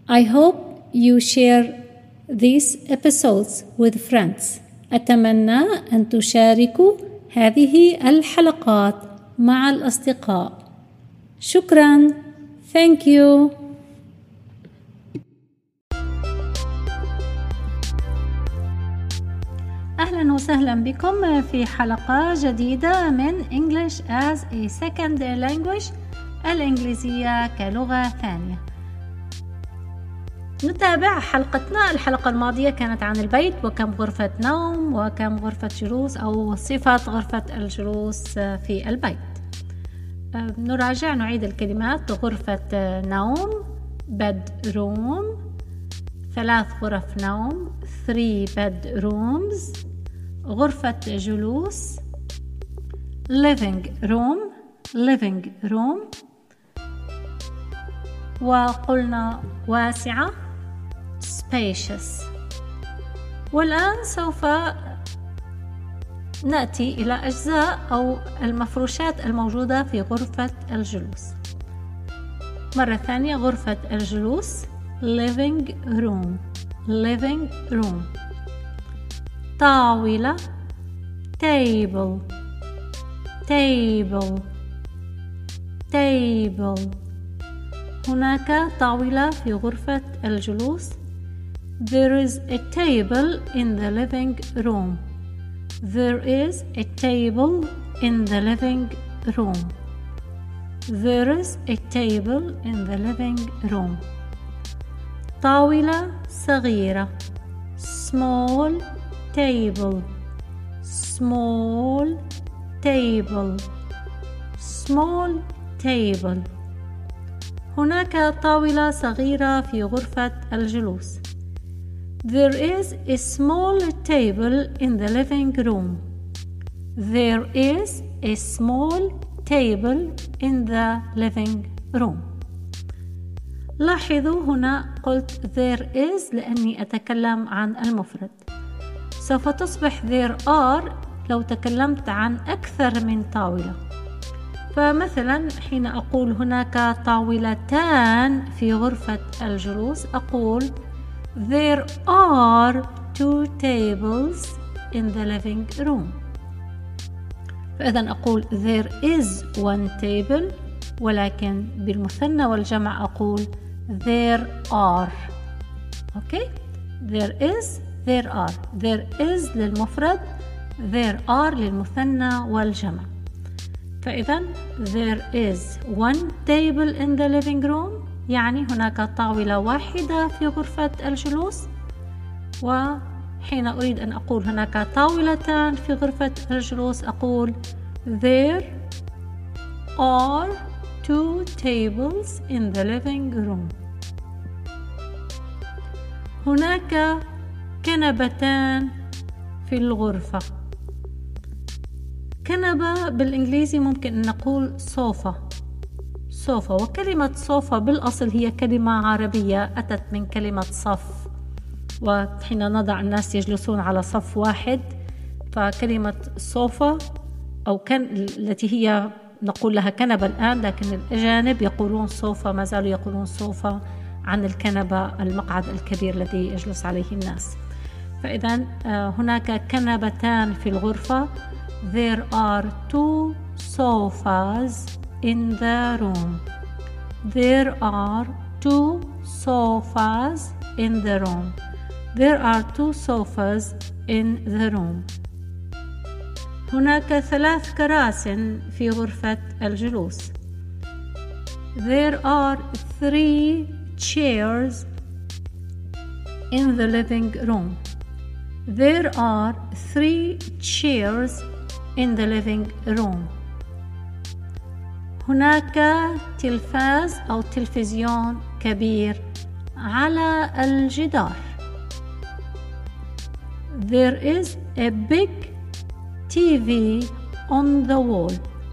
I hope you share these episodes with friends. أتمنى أن تشاركوا هذه الحلقات مع الأصدقاء. شكراً. Thank you. أهلاً وسهلاً بكم في حلقة جديدة من English as a Second Language، الإنجليزية كلغة ثانية. نتابع حلقتنا. الحلقة الماضية كانت عن البيت وكم غرفة نوم وكم غرفة جلوس أو صفة غرفة الجلوس في البيت. نعيد الكلمات. غرفة نوم bedroom، 3 غرف نوم 3 bedrooms. غرفة جلوس living room، وقلنا واسعة spacious. والآن سوف نأتي إلى أجزاء أو المفروشات الموجودة في غرفة الجلوس. مرة ثانية، غرفة الجلوس living room. طاولة table. هناك طاولة في غرفة الجلوس. There is a table in the living room. There is a table in the living room. There is a table in the living room. طاولة صغيرة small table. هناك طاولة صغيرة في غرفة الجلوس. There is a small table in the living room. There is a small table in the living room. لاحظوا هنا قلت there is لأني أتكلم عن المفرد. سوف تصبح there are لو تكلمت عن أكثر من طاولة. فمثلا حين أقول هناك طاولتان في غرفة الجلوس أقول there are 2 tables in the living room. فإذا أقول there is 1 table، ولكن بالمثنى والجمع أقول there are. there is للمفرد، there are للمثنى والجمع. فإذا there is 1 table in the living room يعني هناك طاولة واحدة في غرفة الجلوس. وحين أريد أن أقول هناك طاولتان في غرفة الجلوس أقول there are 2 tables in the living room. هناك كنبتان في الغرفة. كنبة بالإنجليزي ممكن أن نقول صوفة، وكلمة صوفة بالأصل هي كلمة عربية أتت من كلمة صف، وحين نضع الناس يجلسون على صف واحد فكلمة صوفة أو التي هي نقول لها كنبة الآن، لكن الأجانب يقولون صوفة، ما زالوا يقولون صوفة عن الكنبة المقعد الكبير الذي يجلس عليه الناس. فإذا هناك كنبتان في الغرفة. There are 2 sofas in the room. There are 2 sofas in the room. There are 2 sofas in the room. هناك 3 كراسي في غرفة الجلوس. There are 3 chairs in the living room. There are 3 chairs in the living room. هناك تلفاز أو تلفزيون كبير على الجدار. There is a big TV on the wall.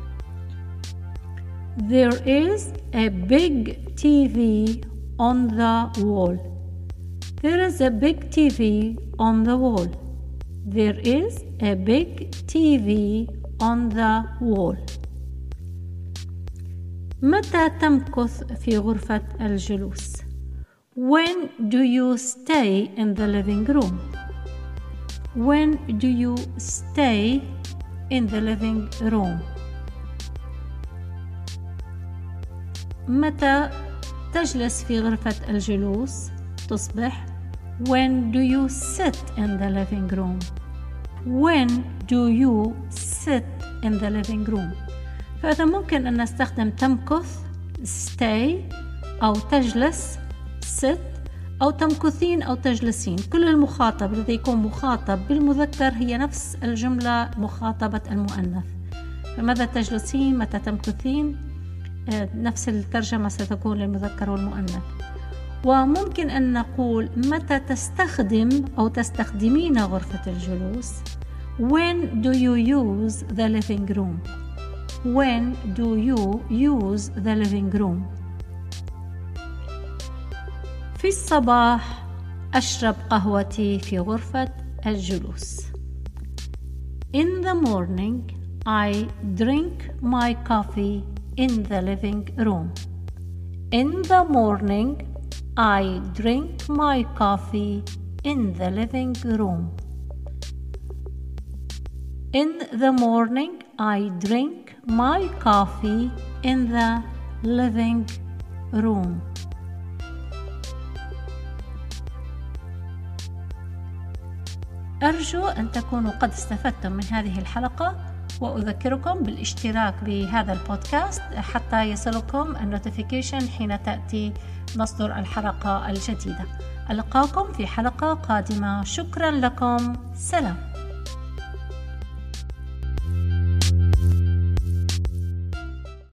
There is a big TV on the wall. There is a big TV on the wall. There is a big TV on the wall. متى تمكث في غرفة الجلوس؟ When do you stay in the living room? When do you stay in the living room? متى تجلس في غرفة الجلوس؟ تصبح When do you sit in the living room? When do you sit in the living room? فإذا ممكن أن نستخدم تمكث stay أو تجلس sit أو تمكثين أو تجلسين. كل المخاطب الذي يكون مخاطب بالمذكر هي نفس الجملة مخاطبة المؤنث. فماذا تجلسين؟ متى تمكثين؟ نفس الترجمة ستكون للمذكر والمؤنث. وممكن أن نقول متى تستخدم أو تستخدمين غرفة الجلوس. When do you use the living room? When do you use the living room? في الصباح أشرب قهوتي في غرفة الجلوس. In the morning I drink my coffee in the living room. In the morning I drink my coffee in the living room. In the morning I drink my coffee in the living room. أرجو أن تكونوا قد استفدتم من هذه الحلقة، وأذكركم بالاشتراك بهذا البودكاست حتى يصلكم النوتيفيكيشن حين تأتي مصدر الحلقة الجديدة. ألقاكم في حلقة قادمة. شكرا لكم. سلام.